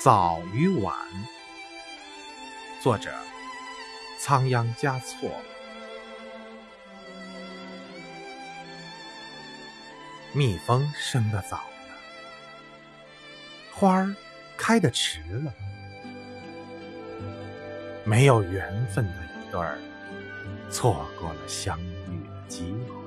早与晚，作者仓央嘉措。蜜蜂生得早了，花儿开得迟了，没有缘分的一对儿，错过了相遇的机会。